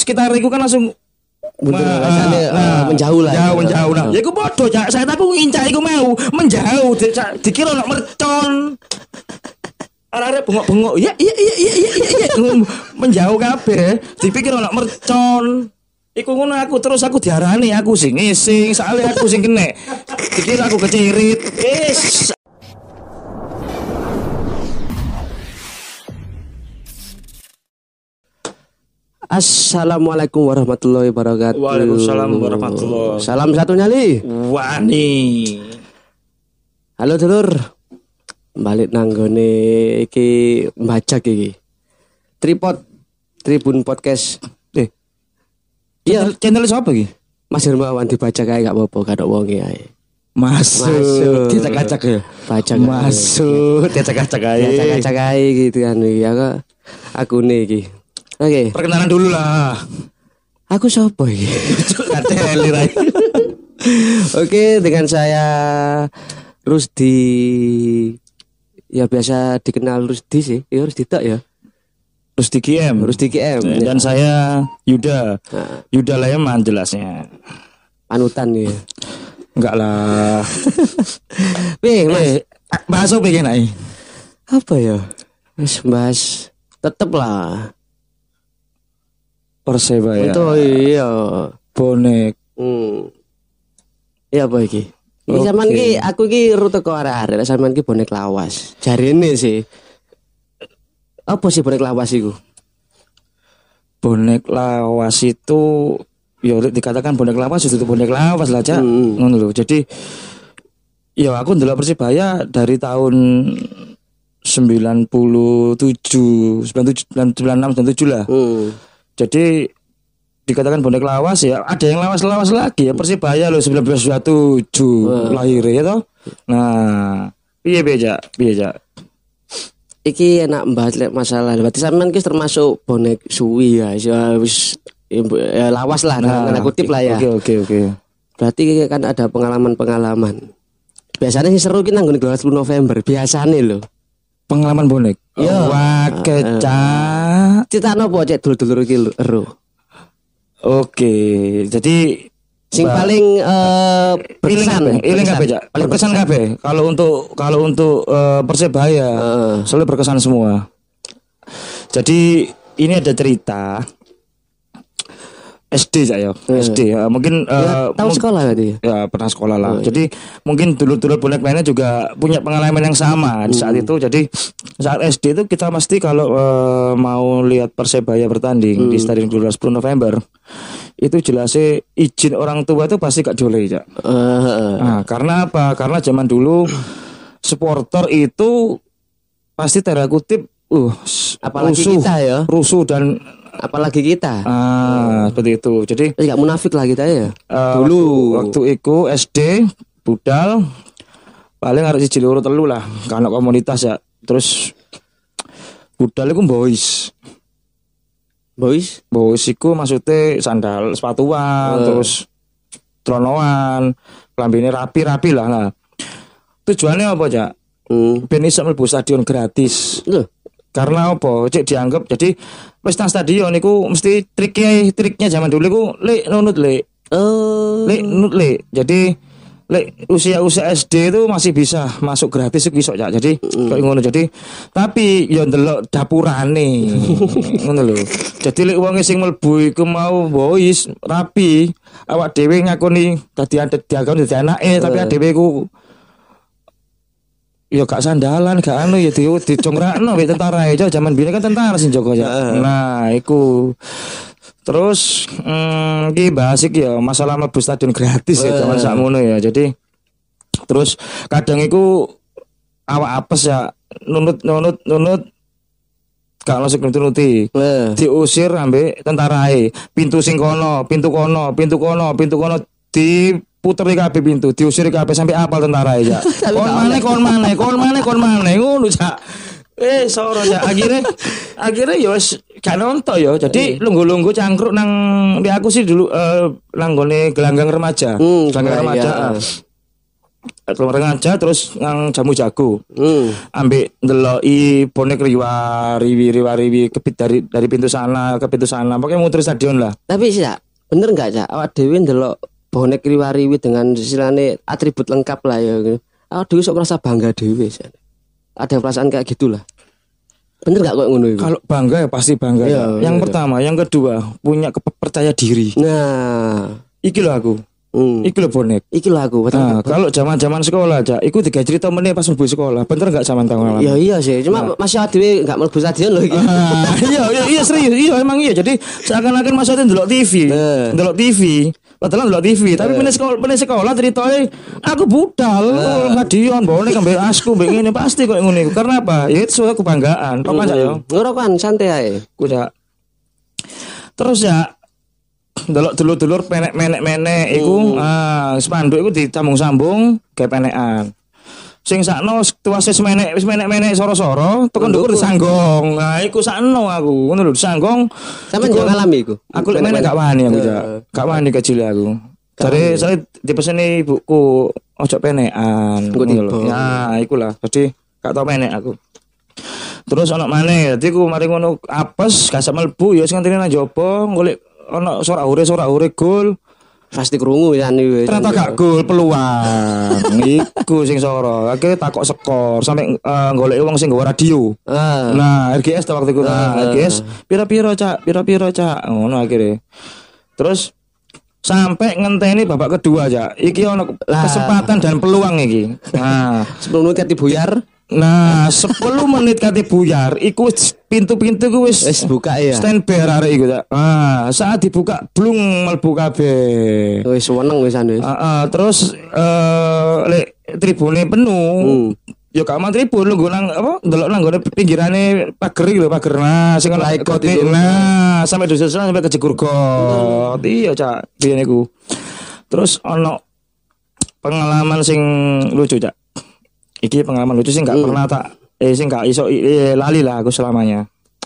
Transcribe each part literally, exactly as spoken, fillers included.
sekitar iku kan langsung Mundur rasane uh, menjauh lah. Jauh menjauh nah. Ya iku padha Cak, saya aku ngincak iku mau menjauh dikira ono mercon. Arek-arek bengok-bengok. Ya iya iya iya iya iya menjauh kabeh. Dipikir ono mercon. Iku ngono aku terus aku diarani aku sing ngising, soalnya aku sing kena. Dikira aku kecirit. Wis. Assalamualaikum warahmatullahi wabarakatuh. Waalaikumsalam warahmatullahi. Salam satu nyali. Wani. Halo dulur. Balik nanggone iki mbajak iki. Tripod Tribun Podcast. Eh. Iya, channel siapa iki? Mas Hermawan dibaca kae gak apa-apa, gak ada wonge ae. Masuk. Dicak-acak ya. Baca masuk. Dicak-acak ae. Dicak-acak ae gitu kan ya kok. Akune iki. Oke, okay. Perkenalan dulu lah. Aku siapa iki? Kateli rai. Oke, dengan saya Rusdi. Ya biasa dikenal Rusdi sih. Ya Rusdi tak ya. Rusdi K M. Rusdi K M. Dan ya. Saya Yuda. Nah. Yuda Leman jelasnya. Panutan ya. Enggak lah. Weh, Mas. Eh, bahas apa iki nek? Apa ya? Wis bahas tetep lah. Persebaya. Itu iya. Bonek. Hmm. Iya apa iki? Iki Okay. sampean iki aku iki rute ke arek-arek, sampean iki bonek lawas. Jarine sih. Apa sih bonek lawas iku? Bonek lawas itu ya dikatakan bonek lawas itu bonek lawas lah, Cak. Hmm. Ngono lho. Jadi ya aku ndelok Persibaya dari tahun sembilan puluh tujuh, sembilan puluh tujuh, sembilan puluh enam, sembilan puluh tujuh lah. Hmm. Jadi dikatakan bonek lawas ya ada yang lawas-lawas lagi ya Persibaya loh seribu sembilan ratus dua puluh tujuh hmm. lahir ya toh. Nah, piye beja, piye ja. Iki enak bahas masalah. Berarti sampean ki termasuk bonek suwi ya. Wis ya, lawas lah nah, tanda kutip lah ya. Oke oke oke. Berarti kan ada pengalaman-pengalaman. Biasanya sih seru ki nang ngene sepuluh November biasane lho. Pengalaman bonek. Iya. Wah, kecak. Citane opo cek dulur-dulur iki lho. Oke, jadi sing paling uh, berkesan, iling kabeh, Cak. Paling berkesan kabeh. Kalau untuk kalau untuk uh, Persebaya, uh. selalu berkesan semua. Jadi ini ada cerita S D saya, uh. S D ya. Mungkin ya, uh, tahu mung- sekolah tadi. Ya, pernah sekolah lah. Oh, jadi iya. Mungkin dulu-dulu bonek lainnya juga punya pengalaman yang sama hmm. di saat itu. Jadi saat S D itu kita mesti kalau uh, mau lihat Persebaya bertanding hmm. di Stadion Gelora sepuluh November itu jelasnya izin orang tua itu pasti gak boleh ya. Uh. Nah, karena apa? Karena zaman dulu supporter itu pasti tanda kutip uh apalagi rusuh, kita ya. Rusuh dan apalagi kita. Ah, seperti itu. Jadi enggak munafik lah kita ya. Uh, dulu waktu, waktu itu S D budal paling harus siji loro telu lah karena komunitas ya. Terus budal iku boys. Boys, boys iku maksudnya sandal sepatuan, uh. terus tronoan, klambine rapi-rapi lah. Nah, tujuannya apa, Cak? Hmm. Ben iso mlebu stadion gratis. Loh. Karena apa? Cek dianggap jadi wis nang stadion niku mesti triknya triknya zaman dulu iku lek nunut lek. Oh. Lek nunut lek. Jadi lek usia-usia S D itu masih bisa masuk gratis iku iso ya. Jadi mm. kayak ngono. Jadi tapi yo ndelok dapurane. Ngono lho. Jadi lek wong sing mlebu iku mau boys rapi, awak dhewe ngakoni dadi diakoni dadi anake uh. tapi dhewe iku ya gak sandalan, gak anu ya di dicongrakno wek tentara aja zaman biyen kan tentara sing jaga ya. Uh. Nah, iku. Terus hmm, iki bahas iki ya masalah mlebu stadion gratis uh. ya zaman sakmono ya. Jadi terus kadang iku awak apes ya nunut nunut nunut gak ono sing nuruti. Uh. Diusir ambek tentarae. Pintu sing kono, pintu kono, pintu kono, pintu kono di puteri kabeh pintu, diusir kabeh sampai apal tentara ya. Kon maneh, kon maneh, kon maneh, kon maneh ngono, Cak. Eh, soro ya. Akhirnya akhirnya ya wis gak nonton ya. Jadi lungguh-lungguh cangkruk nang di aku sih dulu uh, nang gone gelanggang remaja. Hmm, gelanggang remaja. Iya. keluar ngaja terus nang jamu jago. Hmm. Ambek ndeloki bonek riwa riwi riwa riwi kepit dari dari pintu sana ke pintu sana. Pokoknya muter stadion lah. Tapi sih, Cak, bener enggak, Cak? Awak dhewe ndelok bonek riwa-riwi dengan istilahnya atribut lengkap lah ya. Awak dhewe sok merasa bangga dhewe, Cak. Ada perasaan kayak gitulah. Bener enggak kok ngono iku? Kalau bangga ya pasti bangga. Iya, ya. Yang iya. pertama, yang kedua punya kepercaya diri. Nah, Iki loh aku. hmm. Iki loh bonek. Iki lho aku, betul. Nah, kalau zaman-zaman sekolah aja, iku tiga cerita meneh pas mlebu sekolah. Bener enggak zaman tahun Ya iya sih, cuma masih dhewe enggak mlebu stadion lho iki. Ah, iya, iya, iya serius, iya emang iya. Jadi seakan-akan maksudnya ndelok T V, Eh. ndelok T V, padahal ndelok T V, tapi meneh sekolah, meneh sekolah ceritanya aku budal, ngadion, bonek ambek asku, mbek ngene pasti kok ngono iku. Karena apa? Ya itu suatu kebanggaan. Apa aja yo? Ora kan santai ae. Ku jak. Terus ya delok dulur-dulur penek-menek-menek iku, ah spanduk iku dicambung-sambung gawe penekan. Sing sakno tuwase wis menek wis menek-menek soro-soro, tekan ndukur disanggong. Nah, iku sakno aku, ngono lho disanggong. Sampe yo ngalami iku. Aku lek menek gak wani aku, Jak. Gak wani kecil aku. Jare saya dipeseni ibuku ojo penekan. Engko Ngono lho. tiba. Ya, iku lah. Jadi gak tau menek aku. Terus ana maneh, dadi ku mari ngono apes, gak sak mlebu ya sing ngenteni nang jaba, golek ana sorak-ure sorak-ure gol. Pasti krungu ya wis. Ternyata gak gol peluang. Iku sing soro. Akhirnya takok skor sampai uh, golek wong sing nggawa radio. Ah. Nah, R G S ta waktu itu. Nah, R G S pira-pira, Cak? Pira-pira, Cak? Ngono akhirnya. Terus sampai ngenteni babak kedua, Cak. Iki ono kesempatan dan peluang iki. Nah, Sebelum menit buyar, nah sepuluh menit kate buyar iku wis pintu-pintu ku wis wis buka ya. standby arek iku, Cak. Ah, saat dibuka blung mlebu kabeh. Wis seneng wisan wis. Heeh, terus eh lek tribune penuh. Hmm. Ya gak mau tribun lu nang apa? Ndelok nang gone pinggirane pager iki lho, pager. Nah, sing ana Laikot kote. itu. Nah, sampai dosen sampai ke jegur got. Iya, Cak. Biyen iku. Terus ono pengalaman sing lucu, Cak. Iki pengalaman lucu sing gak pernah tak eh sing gak iso eh, lali lah aku selamanya.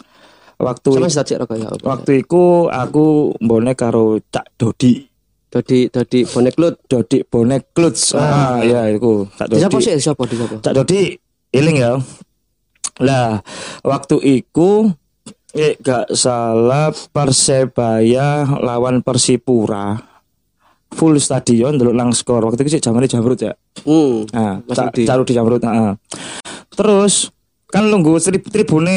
Waktu Sama sedek rokok ya. waktu iku aku bonek karo Cak Dodi. Dodi dodi bonek lut. Dodi bonek kluts. Ah, ya iku Cak Di Dodi. sapa sih? Siapa di sapa? Cak Dodi eling ya. Lah, waktu iku eh gak salah Persebaya lawan Persipura. Full stadion delok nang skor. Waktu itu sih jamane Jamrut ya. Hmm. Nah, Mas Cak Rudi. Cak Rudi Jamrut, heeh. Terus kan lungguh tri- tribune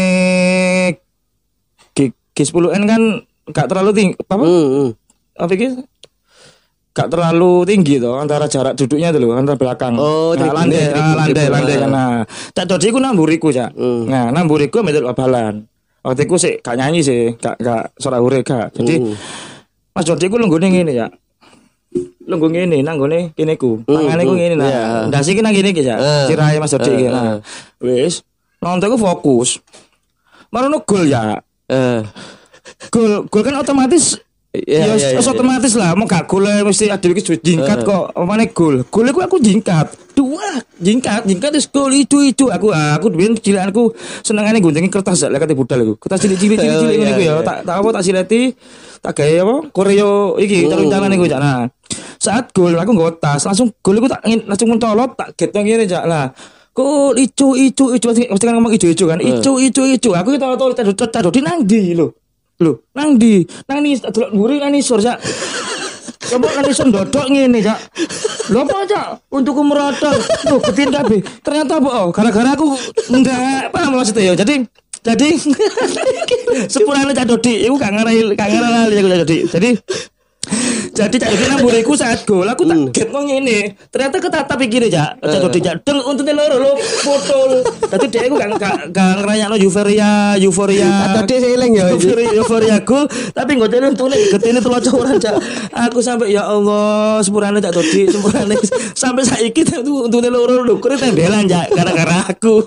G, G10N kan gak terlalu tinggi apa? Hmm. hmm. Apa iki? Gak terlalu tinggi toh antara jarak duduknya tuh loh antara belakang. Oh, nah, tribune, landai, tribune, ah, landai, tribune. landai kan. Nah, Cak Dodi ku namburiku, Cak. Hmm. Nah, namburiku medal babalan. Waktu itu sih gak nyanyi sih, gak gak suara hure gak. Jadi Hmm. Mas Dodi ku lunggune ngene ya. Lungguh ngene nang gone kene ku. Tangane ku ngene nah. Iya. Ndasi ki nang kene ki, Cak. Eh. Cirahe Mas Dodi ki. Eh, Nah, wis nonton ku fokus. Marono gol ya. Eh. Gol, gol kan otomatis Iya, ya, iya, iya, ya, otomatis lah mau gak gol mesti ada iki jingkat kok omane gol. Gol aku aku jingkat. Dua jingkat, jingkat wis gol itu itu aku aku biyen cilanku senengane guntingi kertas lek kate budal iku. Kertas cilik-cilik cilik-cilik ngene iku ya. Tak tak apa tak sileti tak gawe apa? Koreo iki calon-calon iku, Cak. Nah, saat gol aku nggawa tas, langsung gol iku tak langsung mencolot tak get nang ngene, Cak. Lah, gol ijo ijo ijo mesti kan ngomong ijo ijo kan. Ijo ijo ijo. Aku kita tahu tadi nang ndi lho. Lho, nang ndi? Nang ni delok mburi nang isor, Cak. Coba nang isor ndodok ngene, Cak. Lho apa, Cak? Untukku merotol. Lho, betin kabeh. Ternyata apa? Oh, gara-gara aku ndak paham maksudnya ya. Jadi jadi sepurane Cak Dodi iku gak ngarani gak ngarani aku Cak Dodi. Jadi jadi Cak Dodi nang mburiku saat gol aku tak get nang ngene. Ternyata ketatap iki Cak. Cak Dodi Cak deng untune loro lho potol. Dadi dhek iku gak gak gak ngrayakno euforia, euforia. Tadi saya eling ya. Euforia, euforia gol, tapi nggak jadi untune getine telu coran, Cak. Aku sampai ya Allah, sepurane Cak Dodi, sepurane sampai saiki untune loro lho, kure tembelan, Cak, gara-gara aku.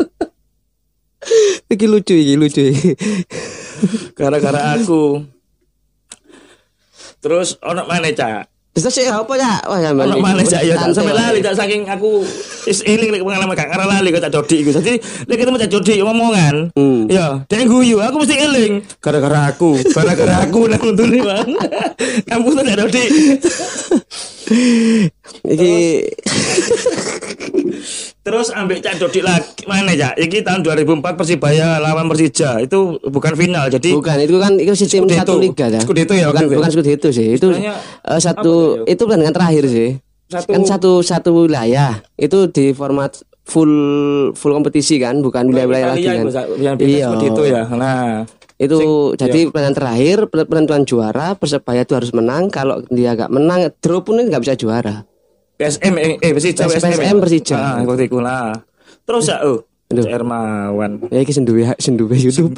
Iki lucu iki lucu. Gara-gara aku. Terus ono maneh, Cak. Bisa sih apa ya? Wah ya Ono maneh, Cak, ya tak sampai lali, Cak. Cak, saking aku is eling lek pengalaman gak ngarah lali kok Cak Dodi iku. Dadi lek ketemu Cak Dodi omongan, Hmm. ya dhek guyu, aku mesti eling gara-gara aku, gara-gara aku nang untune, Bang. Kamu Cak Dodi. Iki Terus ambek Cak Dodik lagi mana ya? Iki tahun dua ribu empat Persibaya lawan Persija itu bukan final. Jadi bukan itu kan itu sistem Scudetto. satu liga ya. Scudetto ya, Bukan waktu itu. bukan Scudetto sih. Itu Istilahnya eh, satu apa ya? itu pertandingan terakhir sih. Satu- Kan satu satu wilayah. Itu di format full full kompetisi kan, bukan wilayah-wilayah lagi Italia kan. itu, Cak. Yang beda seperti itu ya. Nah, Itu Sing- jadi iya. pertandingan terakhir penentuan juara Persebaya itu harus menang. Kalau dia gak menang, draw pun nggak bisa juara. P S M eh, eh Persija P S M Persija. Ah, waktu itu lah. Terus ya, oh, Aduh. Cak Hermawan. Ya iki senduwe senduwe YouTube.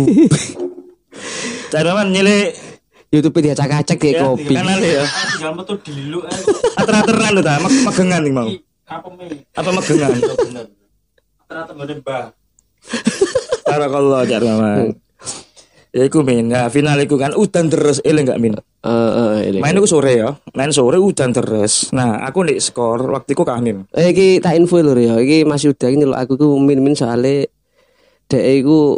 Cak Hermawan nyele YouTube dia acak-acak kayak ya, kopi. kanal ya. Tinggal metu dilu ae. Ater-ateran lho ta, meg- megengan nih mau. Apa me? Apa megengan? Bener. Ternyata ngene Mbah. Barakallah Cak Hermawan. Ya iku min, nah, final iku kan udan terus eling gak min. Eh eh ini. Main iku sore ya, main sore udan terus. Nah, aku nek skor waktu iku kanin. Eh iki tak info lho ya. Iki Mas Yuda ini lho aku ku min-min soalnya dek iku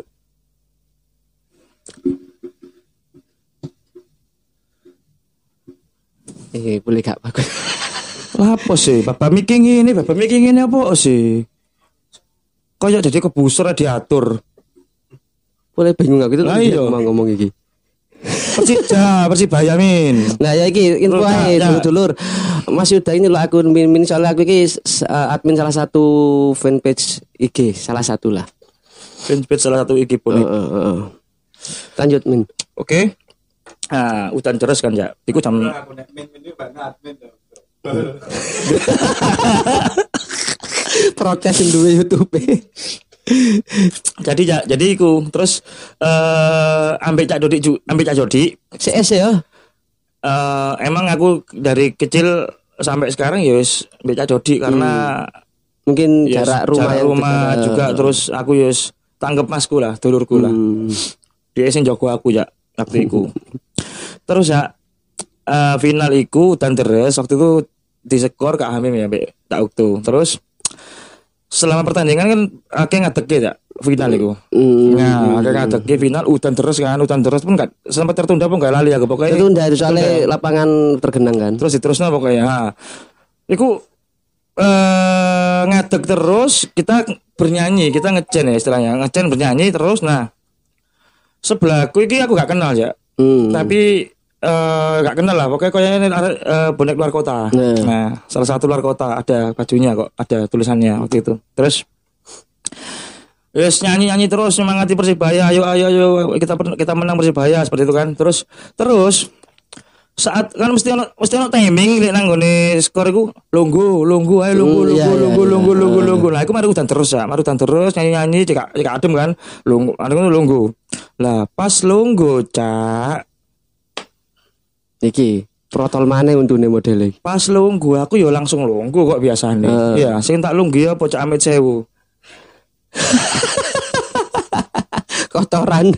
Eh boleh gak bagus. Lah apa sih? Bapak mikir ngene, bapak mikir ngene apa sih? Kayak jadi kebuser diatur. Boleh bingung aku itu Lah iya. mau ngomong iki. Persija, Persibaya min. Nah ya iki info Terus, ae ya. dulur-dulur. Mas Yuda ini lho aku min-min soalnya aku iki uh, admin salah satu fanpage I G, salah satu lah. Fanpage salah satu I G Heeh pun. heeh. Lanjut min. Oke. Nah, udan terus kan ya. Iku jam Aku nek min-min iki Mbak admin to. Protes duwe YouTube. jadi ya, jadi iku terus eh ambek Cak Dodik ju- ambek Cak Dodik C S ya. eh emang aku dari kecil sampai sekarang ya wis ambek Cak Dodik karena Mungkin ya, jarak rumah jarak yang rumah dekat. juga terus aku ya wis tanggep masku lah, dulurku lah. Hmm. Dia sing jago aku ya waktu itu. Terus ya eh, final iku dan terus waktu itu diskor Kak Hamim ya mbek tak waktu. Terus selama pertandingan kan akeh ngadeke ya final iku. Hmm. Nah, akeh ngadeke final udan terus kan, udan terus pun gak sempat tertunda pun gak lali aku pokoknya. Itu dari soalnya lapangan tergenang kan. Terus diterusno pokoknya. Nah, iku eh ngadeg terus kita bernyanyi, kita ngecen ya istilahnya, ngecen bernyanyi terus. Nah, sebelahku iki aku gak kenal ya. Hmm. Tapi eh gak kenal lah pokoknya kayaknya ini ada eh, bonek luar kota. Nah. Nah, salah satu luar kota ada bajunya kok, ada tulisannya waktu itu. Terus yes, nyanyi-nyanyi terus semangati Persibaya, ayo ayo ayo kita kita menang Persibaya seperti itu kan. Terus terus saat kan mesti ono mesti ono timing lek nang gone skor iku lunggu lunggu ayo lunggu Hmm, lunggu iya, iya, lunggu iya. lunggu lunggu lunggu. Lah iku mari udan terus ya, mari udan terus nyanyi-nyanyi cek cek adem kan. Lunggu, anu lunggu. Lah pas lunggu cak Iki protol mana untune model iki. pas lunggu aku yo langsung lunggu kok biasanya. Eh. Iya, sing tak lunggu ya Cak Amit Sewu. Kotoran.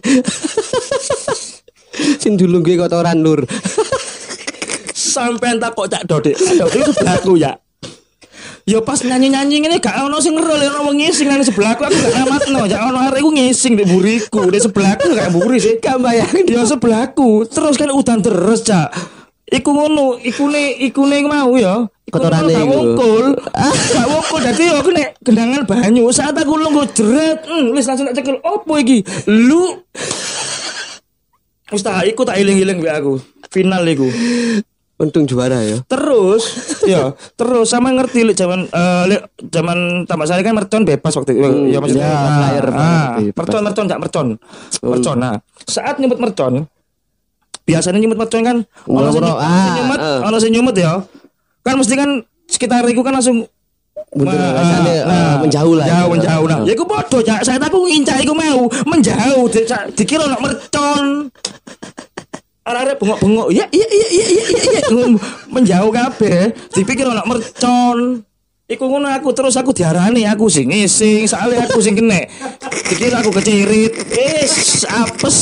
Sing dulu gue kotoran lur. Sampai tak kok Cak Dodik. Aduh, itu sebelahku ya. Yo pas nyanyi-nyanyi ngene gak ono sing ngerol ono wong ngising nang sebelahku aku gak ngamatno. Ya ono arek iku ngising di buriku, di sebelahku gak buri sih. Gak bayangin. Ya sebelahku. Terus kan udan terus, Cak. Iku ngono, ikune ikune mau ya. Kotorane gak iku. wongkul. Gak wongkul dadi yo aku nek gendangan banyu saat aku lungguh jret, hmm, wis langsung tak cekel. Opo iki? Lu Wis tak iku tak iling-iling mbek aku. Final iku. Untung juara ya. Terus, ya, terus sama ngerti lek zaman eh lek zaman tambah saya kan mercon bebas waktu itu. Hmm, ya maksudnya ya, ah, player, ah, player bebas. mercon mercon enggak mercon. Mercon. Nah, saat nyebut mercon biasanya nyebut mercon kan ono sing Ngomong, ono sing ah, nyumet, ah. ono sing nyumet ya. Kan mesti kan sekitar iku kan langsung Mundur, ah, rasanya, ah, ah, menjauh lah. Jauh, menjauh. Nah, ya iku padha, Cak. Saya aku ngincak iku mau menjauh, Cak. Cak. Dikira ono mercon. Arek-arek bengok-bengok. Ya iya iya iya iya iya. iya. Menjauh kabeh. Dipikir ono mercon. Iku ngono aku terus aku diarani aku sing ngising, soalnya aku sing kene. Dikira aku kecirit. Wis apes.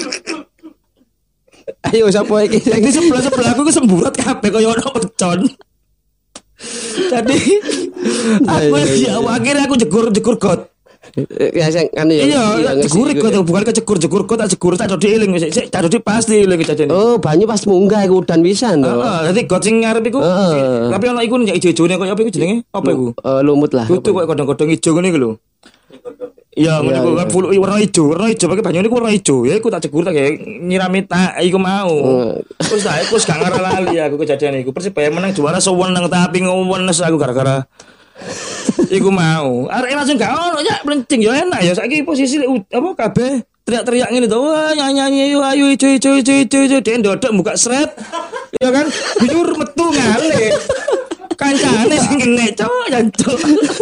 Ayo sapa iki? Yang di sebelah-sebelah aku kesemburat kabeh kaya ono mercon. Jadi aku iya, iya, ya akhirnya aku jegur-jegur got. Ya sing kan ya. Iya, jegurik kok bukan kecegur-jegur kok tak jegur tak dodi eling wis sik tak dodi pasti eling kejadian. Oh, banyu pas munggah iku udan pisan to. Heeh, dadi got sing ngarep iku. Tapi ana iku nek ijo-ijone koyo apa iku jenenge? Apa iku? Eh, lumut lah. Kudu koyo kodong-kodong ijo ngene iku lho. Iya, ngene iku kan full warna ijo, warna ijo pakai banyu niku warna ijo. Ya iku tak jegur tak nyirami tak iku mau. Terus tak iku gak ngarep lali aku kejadian iku. Persibaya menang juara sewenang tapi ngowenes aku gara-gara iku mau. Arek langsung gak ono ya blencing ya enak ya saiki posisi apa kabeh teriak-teriak ngene to. Wah nyanyi yo ayo ijo ijo ijo ijo ijo den ndodok buka sret. Ya kan? Bijur metu ngale. Kancane sing kene cok jancuk.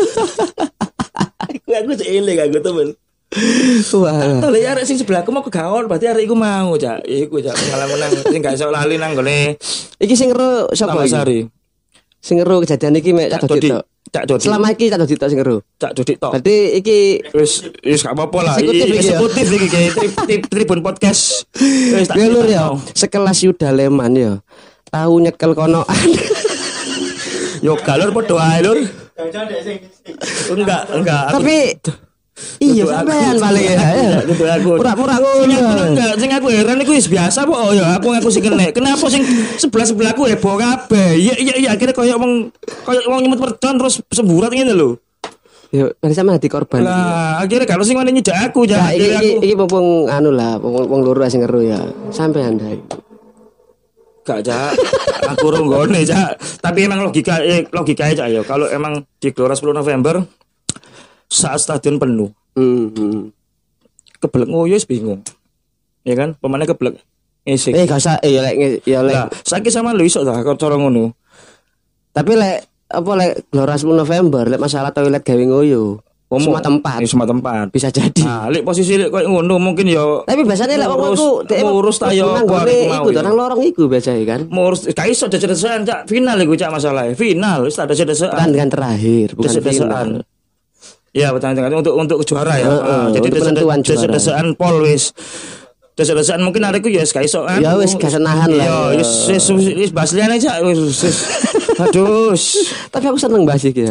Iku aku cek eling aku temen. Wah. Tole arek sing sebelahku mau kegaon berarti arek iku mau cak. Iku cak pengalaman nang sing gak iso lali nang gone. Iki sing ero sapa iki? Sing ero kejadian iki mek Cak Dodi tok. Cak Dodi. Selama iki Cak Dodi tok sing ero. Cak Dodi tok. Berarti iki wis wis gak apa-apa lah. Eksekutif iki Tribun Podcast. Wis tak lur ya. Sekelas Yuda Leman ya. Tahu nyekel konoan. Yo galur padha ae lur. Enggak, enggak. Tapi iya sampean paling ya. Itu aku. Pura-pura ngono. Enggak, sing aku heran iku wis biasa kok. Oh ya aku ngaku sing kena. Kenapa sing sebelah-sebelahku heboh kabeh? Iya iya iya akhirnya koyo wong koyo wong nyemut mercon terus semburat ngene lho. Yo, kan sama hati korban. Lah, akhirnya kalau sing ngene nyedak aku ya. Iki iki iki mumpung anu lah, wong loro sing ngeru ya. Sampean ndai. Gak Cak, aku ronggone Cak. Tapi emang logika eh, logikanya Cak ya. Kalau emang di Gelora sepuluh November saat stadion penuh, hmm. keblek ngoyo bingung, ya kan? Pemainnya keblek ngisik. Eh gak usah, eh ya lek ya lek. Lah, saiki sama lu iso ta cara ngono. Tapi lek apa lek Gelora sepuluh November lek masalah toilet gawe ngoyo. Semua tempat. Semua tempat. Bisa jadi. Nah, lek posisi lek koyo ngono mungkin ya. Tapi biasanya lek wong iku ngurus ta yo iku nang lorong iku biasanya kan. Ngurus gak iso desa-desaan Cak. Final iku Cak masalah. Final wis tak desa-desaan. Pertandingan terakhir bukan final. Ya, pertandingan untuk untuk juara ya. Uh, uh, jadi desa-desaan pol wis. Desa-desaan mungkin areku ya wis gak iso kan. Ya wis gak senahan lah. Ya wis wis wis basliane Cak wis. Aduh. Tapi aku seneng bahas iki.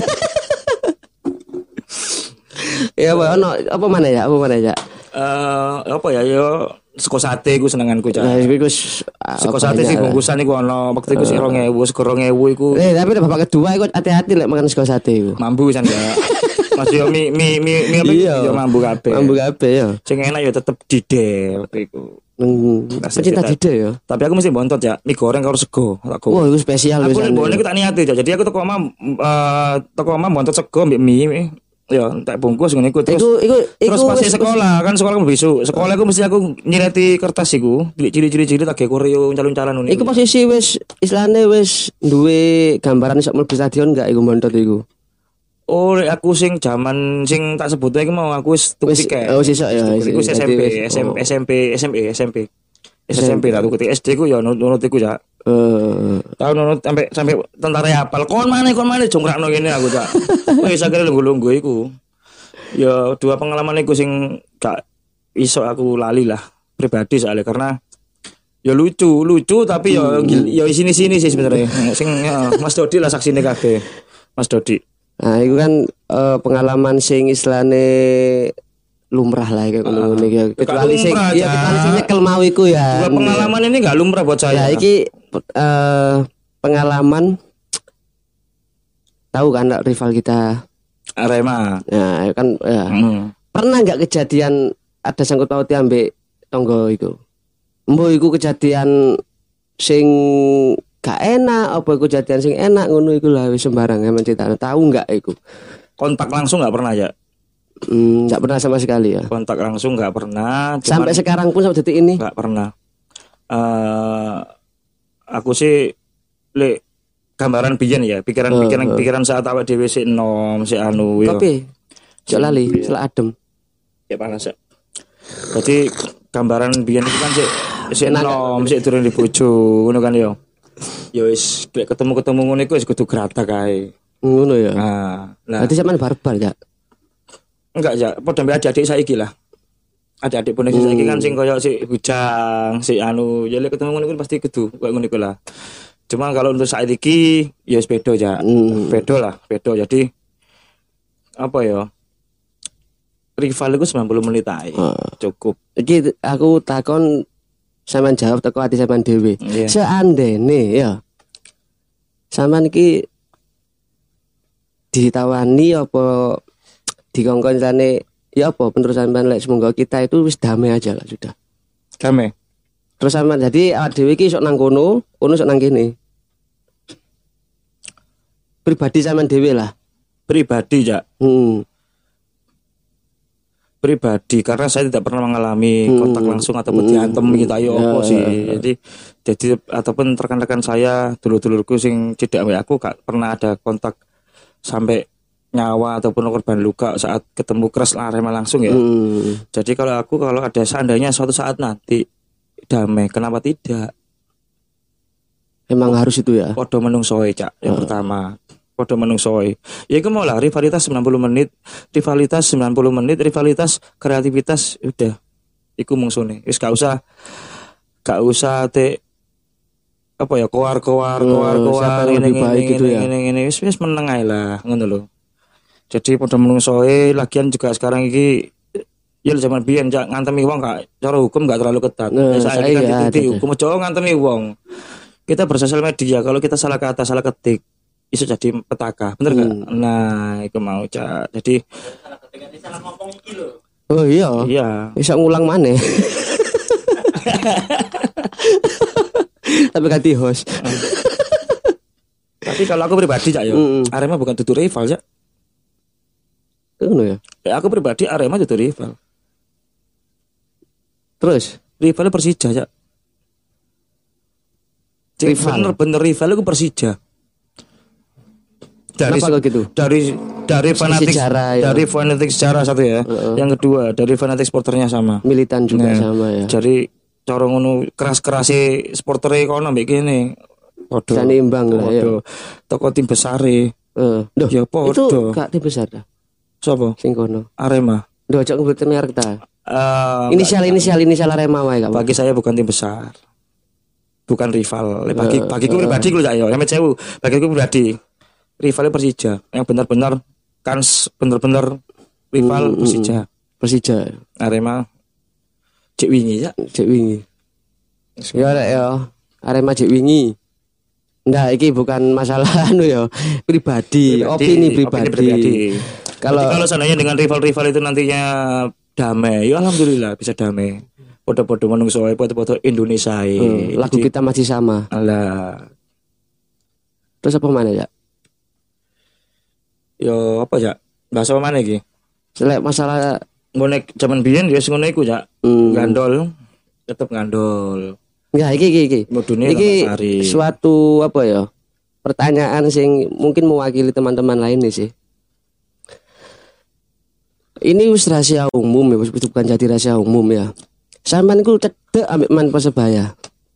Ya ono apa mana ya? Apa mana ya? Eh apa ya yo sego sate iku senenganku Cak. Nah, iku sego sate sih bungkusan iku ono waktu iku sik dua ribu, sego dua ribu iku. Eh tapi bapak kedua iku hati-hati lek makan sego sate iku. Mambu san ya. Mas yo mi mi mi mi apa yo mambu kabeh. Mambu kabeh yo. Sing enak yo tetep didel iku. Hmm, pecinta didel ya. Tapi aku mesti bontot ya, mie goreng karo sego. Aku. Wah, itu spesial wis. Aku nek bonek tak niati Cak. Jadi aku teko omah eh teko omah bontot sego mbek mie. Ya, tak bungkus ngene iku terus. Iku, iku, terus pas sekolah kan sekolah aku besok. Sekolah aku mesti aku nyireti kertas iku, ciri-ciri-ciri tak gawe koreo calon-calon ngono. Iku posisi wis islane wis duwe gambaran iso mlebu stadion enggak iku montot iku. Oh, aku sing jaman sing tak sebut iki mau aku wis tuku tiket. Oh, sesuk ya. Iku S M P, S M P, S M P, S M E, S M P. S M P lah tuku S D ku ya nurut iku Cak. Eh, tahun nurut sampai sampai tentara hafal. Kon mana kon mana jongkrakno ngene aku Cak. Wis akhire lungguh-lungguh iku. Ya dua pengalaman iku sing gak iso aku lali lah pribadi soalnya karena ya lucu, lucu tapi ya ya sini-sini sih sebenarnya. Sing ya, Mas Dodi lah saksine kabeh. Mas Dodi. Nah, itu kan uh, pengalaman sing islane lumrah lah kayak ngono uh, iki. Kecuali sing ya kecuali sing nyekel mau iku ya. Dua pengalaman ini enggak lumrah buat saya. Ya iki uh, pengalaman tahu kan rival kita Arema. Ya kan ya. Hmm. Pernah enggak kejadian ada sangkut pautnya ambek tonggo iku? Mbok iku kejadian sing gak enak apa kejadian sing enak ngono iku lah wis sembarang emang cerita. Tahu enggak iku? Kontak langsung enggak pernah ya? Hmm, enggak pernah sama sekali ya. Kontak langsung enggak pernah. Sampai sekarang pun sampai detik ini enggak pernah. Uh, aku sih le gambaran biyen ya, pikiran-pikiran uh, uh. pikiran saat awak dhewe sik enom, sik anu yo. Tapi jek lali, selak adem. Ya panas ya. Jadi gambaran biyen itu kan sik sik enom, sik durung dibojo, ngono kan yo. Ya wis ketemu-ketemu ngono iku wis kudu grata kae. Ngono ya. Nah, nah. Berarti sampean barbar ya? Enggak ya, padha mbek adik-adik saiki lah. Adik-adik pun hmm. saiki kan sing koyo sik bujang, sik anu, ya lek ketemu ngono iku pasti kudu koyo ngono iku lah. Cuma kalau untuk saat ini ya beda ya, hmm. beda lah, beda. Jadi apa ya? rival iku sembilan puluh menit ae. Oh. Cukup. Iki aku takon sampean jawab teko ati sampean dhewe. Iya. Seandene ya. Sampean iki ditawani apa dikongkon jane ya apa menurut sampean lek semoga kita itu wis damai aja lah sudah. Damai. Terus sampean jadi awak dhewe iki sok nang kono, kono sok nang kene. Pribadi sampean dhewe lah. Pribadi, Cak. Hmm. Pribadi karena saya tidak pernah mengalami Hmm. kontak langsung ataupun Hmm. diantem gitu ayo Ya, apa ya, sih. ya. Jadi jadi ataupun rekan-rekan saya, dulur-dulurku sing cedak ambek aku gak pernah ada kontak sampai nyawa ataupun korban luka saat ketemu Kres Arema langsung ya. Hmm. Jadi kalau aku kalau ada seandainya suatu saat nanti damai, kenapa tidak? Emang harus itu ya. Podo menungsoe, Cak. Yang Uh. pertama, podo menungsoe. Ya iku mau lah rivalitas sembilan puluh menit, rivalitas sembilan puluh menit, rivalitas kreativitas udah. Iku mungsune. Wis gak usah gak usah te apa ya koar-koar Uh, koar-koar siapa yang ngene lebih baik ngene gitu ya? ngene ngene wis wis meneng ae lah ngono lho. Jadi podo menungsoe lagian juga sekarang iki ya zaman biyen Cak ngantemi wong gak cara hukum gak terlalu ketat. Nah, Wis saiki saya kan ya, dituti ada. hukum aja ngantemi wong. Kita bersosial media kalau kita salah kata salah ketik iso jadi petaka bener gak? Hmm. Nah itu mau Cak. Jadi Salah ketika salah ngomong iki lho. Oh iya. iya Bisa ngulang maneh. Tapi ganti host. tapi kalau aku pribadi Cak yo Mm. Arema bukan tutur rival Cak. Ngono ya. Ya, aku pribadi Arema tutur rival. Terus Rivalnya Persija Cak. Cik, Rival? bener-bener rival itu Persija. Dari kenapa kok gitu? dari dari fanatik sejarah, ya. dari fanatik sejarah satu ya. Heeh. Yang kedua dari fanatik supporternya sama. Militan juga Nah, sama ya. Jadi cara ngono keras-kerase supportere kono mbek kene. Padha. Bisa nimbang lah ya. Padha. Toko tim besare. Eh, Duh, Ya itu padha. gak tim besar dah. Sapa? Sing kono. Arema. Duh, cok ngebutin merek ta. Eh, Inisial inisial inisial Arema wae gak apa. bagi saya bukan tim besar. Bukan rival. Bagi Eh, bagiku eh. pribadi lho Cak yo. Emet sewu. Bagiku pribadi. Rivalnya Persija yang benar-benar kans benar-benar rival Hmm, hmm, Persija. Persija. Arema cek wingi ya. Cek wingi. Ya rek ya. Arema cek wingi. Ndak iki bukan masalah anu ya, pribadi, opini pribadi. Kalau Kalau kalau seandainya dengan rival-rival itu nantinya damai, ya alhamdulillah bisa damai. Podo-podo menungso ae podo-podo Indonesia ae. eh, lagu Jadi, kita masih sama. alah. Terus apa mana ya? Yo apa ya? Bahasa apa mana iki? Selek masalah Bonek zaman biyen ya sing ngono iku ya. hmm, Gandol tetep gandol. enggak iki iki iki. Mudune Iki Sari. suatu apa ya? Pertanyaan sing mungkin mewakili teman-teman lain nih sih. Ini wis rahasia umum ya, wis bukan jadi rahasia umum ya. Sampean ku cedek ambek man Persebaya.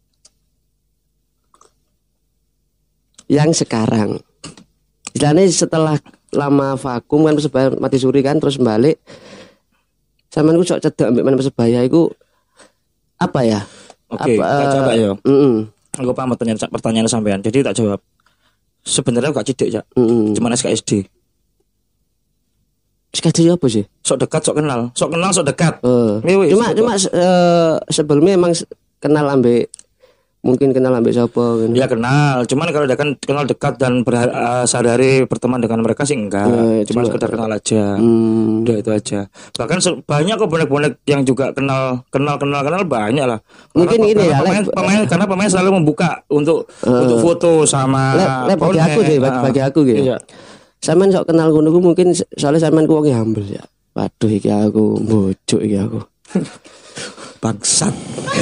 Yang sekarang. Istilahnya setelah lama vakum kan Persebaya mati suri kan terus balik. Sampean ku sok cedek ambek man Persebaya iku apa ya? Oke, Apa, tak coba eh, yo. mm-mm, Aku paham pertanyaan pertanyaan sampean. Jadi tak jawab. Sebenarnya aku gak cidek, Cak. mm-mm. Cuman S K S D. Sekadar apa sih? Sok dekat, sok kenal. Sok kenal, sok dekat. Eh, Wih, wih, cuma sok cuma eh, sebelumnya emang se- kenal ambek mungkin kenal ambek siapa gitu. Ya kenal, cuman kalau udah kan kenal dekat dan berha- eh, sehari-hari berteman dengan mereka sih enggak. Eh, Cuma cuma- sekedar kenal aja. Hmm, Udah itu aja. Bahkan se- banyak kok bonek-bonek yang juga kenal kenal kenal kenal banyak lah. Karena- Mungkin ini karena ya, pemain, Lek. pemain karena pemain selalu membuka untuk untuk foto sama Lek, lek bagi bonek. aku deh, bagi, Ah. bagi aku gitu. Iya. Sampean sok kenal ngono ku mungkin so- soalnya sampean ku wong humble ya. Waduh iki aku bojuk iki aku. Bangsat.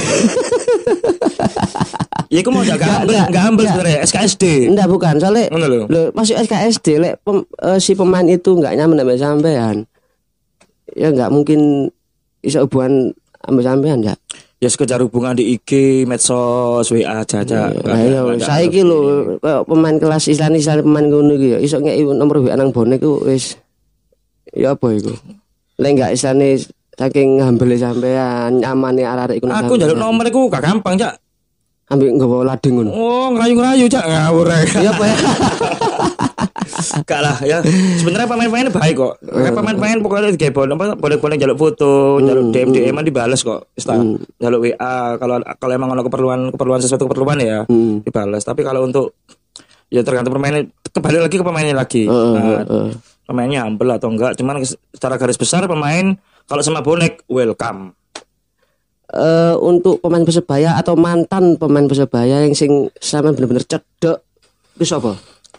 Ya aku mau jaga Nggak, humble, nggak, enggak humble nggak. sebenarnya S K S D. Enggak bukan, soalnya Ngono lho. lho masuk S K S D lek pem- eh, si pemain itu enggak nyaman sama sampean. Ya enggak mungkin iso hubungan sama sampean ya. Ya sekedar hubungan di I G, medsos, W A aja aja. Nah, iya, saiki lho kayak pemain kelas Islam Islam pemain ngono iki ya iso ngeki nomor W A nang bonek ku wis ya apa iku. Lek enggak isane saking hambele sampean, nyamane arek-arek iku. nang Aku njaluk sampean. nomor iku gak gampang, Cak. Ambek nggawa lading ngono. Oh, ngerayu-ngerayu, Cak. Ngawur ae. Iya apa ya? Enggak lah ya. Sebenarnya pemain-pemainnya baik kok. Kayak pemain-pemain pokoknya di Gabon apa boleh-boleh jaluk foto, jaluk D M D M dibales kok. Ista. Jaluk W A kalau kalau emang ada keperluan keperluan sesuatu keperluan ya dibalas. Tapi kalau untuk ya tergantung pemainnya, kembali lagi ke pemainnya lagi. Nah, pemainnya humble atau enggak, cuman secara garis besar pemain kalau sama bonek welcome. Uh, untuk pemain Persebaya atau mantan pemain Persebaya yang sing sampean bener-bener cedek itu sapa?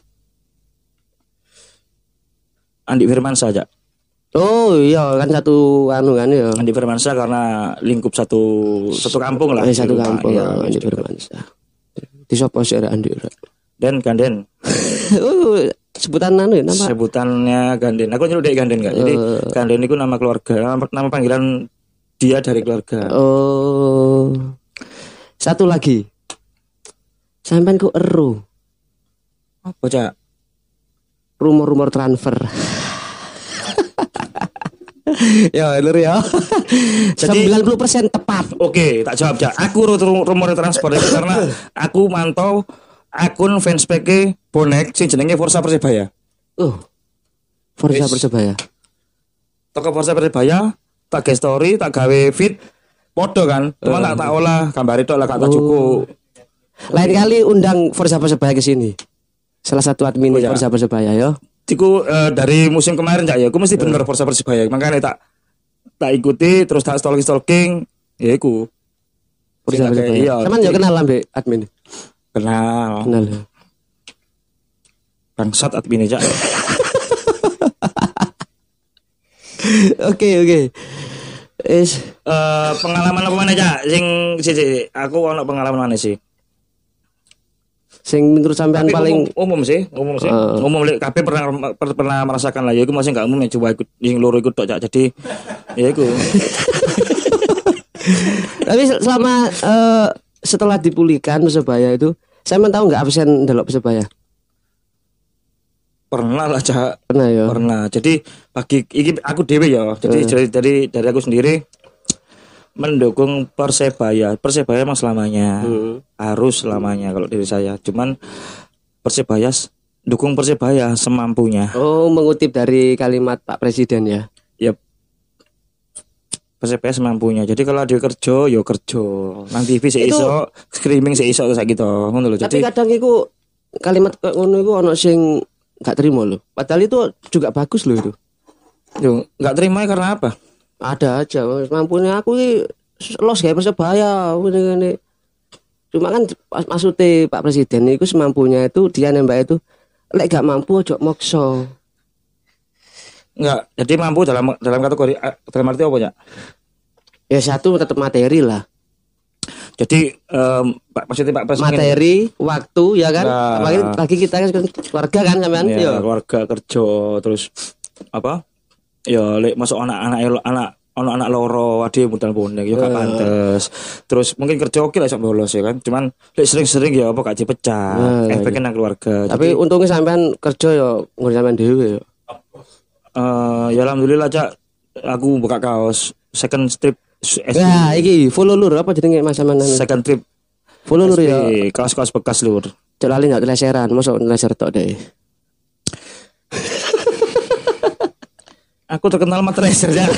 Andi Firmansyah aja. Oh iya kan satu anu kan ya. Andi Firmansyah karena lingkup satu satu kampung lah. Eh, satu kampung ya, Andi Firmansyah. Di sapa sih Andi? Den Ganden. Oh, sebutan anu ya nama. Sebutannya Ganden. Aku nyeluk dek Ganden enggak. Jadi uh, Ganden itu nama keluarga, nama, nama panggilan dia dari keluarga. Oh. Satu lagi. Sampean ku eru. Apa, Cak? Rumor-rumor transfer. Ya, bener ya. Jadi sembilan puluh persen tepat. Oke, tak jawab, Cak. Aku rumor transfer itu karena aku mantau akun fanspage bonek sing jenenge Forza Persebaya. Oh. Forza Persebaya. Toko Forza Persebaya tak gawe story, tak gawe feed podo kan. Cuma uh. tak tak olah gambar itu lah kata oh. cukup. Lain kali undang Forza Persebaya ke sini. Salah satu admin oh, ya. Forza Persebaya ya. Tiku uh, dari musim kemarin Cak ya, aku mesti bener uh. Forza Persebaya. Makanya tak tak ikuti terus tak stalking-stalking, ya iku. Forza Persebaya. Iya. Teman yo kenal ambek admin. Kenal. Kenal. Bangsat admin Cak. Oke oke. Is uh, pengalaman apa mana Cak? Sing sih aku ono pengalaman mana sih? Sing menurut sampean paling umum, umum sih, umum sih. Uh. Umum lek kabeh pernah per, pernah merasakan lah ya iku masih enggak umum ya coba ikut sing loro ikut tok Cak. Jadi ya iku. Tapi selama uh, setelah dipulihkan Persebaya itu, saya mau tahu enggak absen delok Persebaya? Pernah lah Cak. Pernah ya. Pernah. Jadi bagi iki aku dhewe ya. Jadi uh. dari, dari dari aku sendiri mendukung Persebaya. Persebaya emang selamanya. Hmm. Harus selamanya kalau dari saya. Cuman Persebaya dukung Persebaya semampunya. Oh, mengutip dari kalimat Pak Presiden ya. Yep. Persebaya semampunya. Jadi kalau dia kerja, yo kerja. Nang T V seiso, screaming seiso kayak gitu. Ngono lho. Tapi kadang iku kalimat ngono iku ono sing gak terima loh. Padahal itu juga bagus loh itu. Yo, gak terima karena apa? Ada aja. Mampunya aku ini los kayak Persebaya. Ini, cuma kan maksudnya Pak Presiden itu semampunya itu dia nembak itu. Lek gak mampu ojo mokso. Enggak. Jadi mampu dalam dalam kategori dalam arti apa ya? Ya satu tetap materi lah. Jadi um, Pak maksudnya Pak Presiden materi, waktu ya kan. Nah, apalagi lagi kita kan keluarga kan sampean ya, keluarga kerja terus apa? Ya lek masuk anak-anak anak anak-anak loro ade modal bonek ya gak uh. pantes. Terus mungkin kerja oke lah iso bolos ya kan. Cuman lek sering-sering ya apa gak dipecah. Uh, efeknya nang keluarga. Tapi jadi, untungnya sampean kerja ya ngurus sampean dhewe ya. Eh uh, ya alhamdulillah Cak. Aku buka kaos second strip S D. Ya, iki follow lur apa jenenge Mas sampean? Second trip. Follow lur ya. Kaos-kaos bekas lur. Cek lali enggak leseran, mosok leser tok deh. Aku terkenal matreser ya.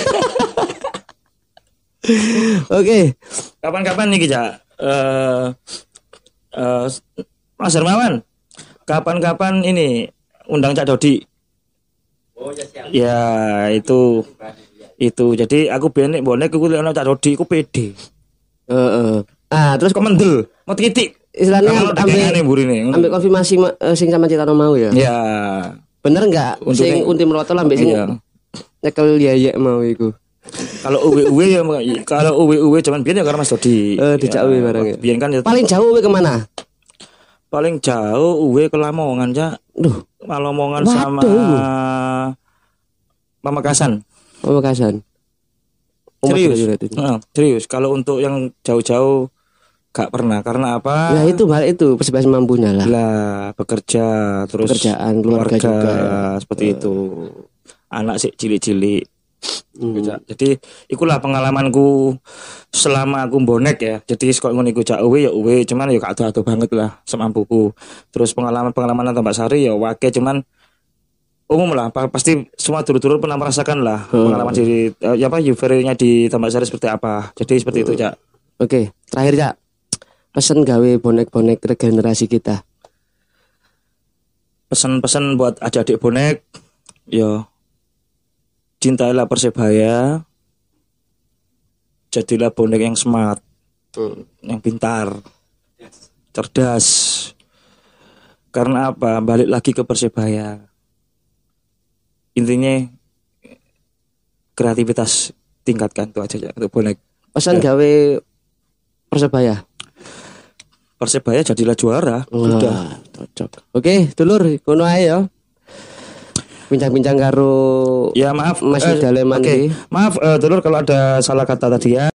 Oke. Kapan-kapan nih Cak? Eh uh, uh, Mas Hermawan. Kapan-kapan ini undang Cak Dodi. Oh ya siap. Ya, itu itu jadi aku benek bonek aku lihat Cak Dodi aku pede. Heeh. Uh, uh. Ah, terus kok mendel, mau titik. Istilahnya ambil ambil konfirmasi uh, sing sama Citano mau ya. Ya. Bener enggak? Sing unti merotol ambek sing iya. Nyekel ya mau iku. Kalau uwe-uwe ya kalau uwe-uwe cuman biyen ya karena Mas Dodi. Eh uh, dijak uwe barang ya. Biyen kan ya. Paling jauh uwe kemana? Paling jauh uwe ke Lamongan, Cak. Duh, Lamongan sama Pamekasan. Pamekasan. Serius. Nah, serius. Kalau untuk yang jauh-jauh gak pernah. Karena apa? Ya itu balik itu Persebaya semampunya lah. Lah, bekerja terus pekerjaan keluarga, keluarga juga ya. Seperti uh. itu. Anak sih cilik-cilik. Hmm. Jadi ikulah pengalamanku selama aku bonek ya. Jadi kok ngono iku cak uwe ya uwe, cuman ya gak ado-ado banget lah semampuku. Terus pengalaman-pengalaman nang Mbak Sari ya wake, cuman umum lah, pa- pasti semua dulur-dulur pernah merasakan lah pengalaman di eh, ya apa euforianya di Tambak Sari seperti apa. Jadi seperti itu, Cak. Oke, terakhir Cak. Pesen gawe bonek-bonek regenerasi kita. Pesan-pesan buat adik-adik bonek, yo cintailah Persebaya, jadilah bonek yang smart, yang pintar, cerdas. Karena apa? Balik lagi ke Persebaya. Intinya kreativitas tingkatkan itu aja ya untuk bonek. Pesan Ya. gawe Persebaya. Persebaya jadilah juara. Sudah. Wah, cocok. Oke, dulur, kono ae ya. Bincang-bincang karo Ya maaf Mas eh, Daleman oke. iki. Maaf eh, dulur kalau ada salah kata tadi ya.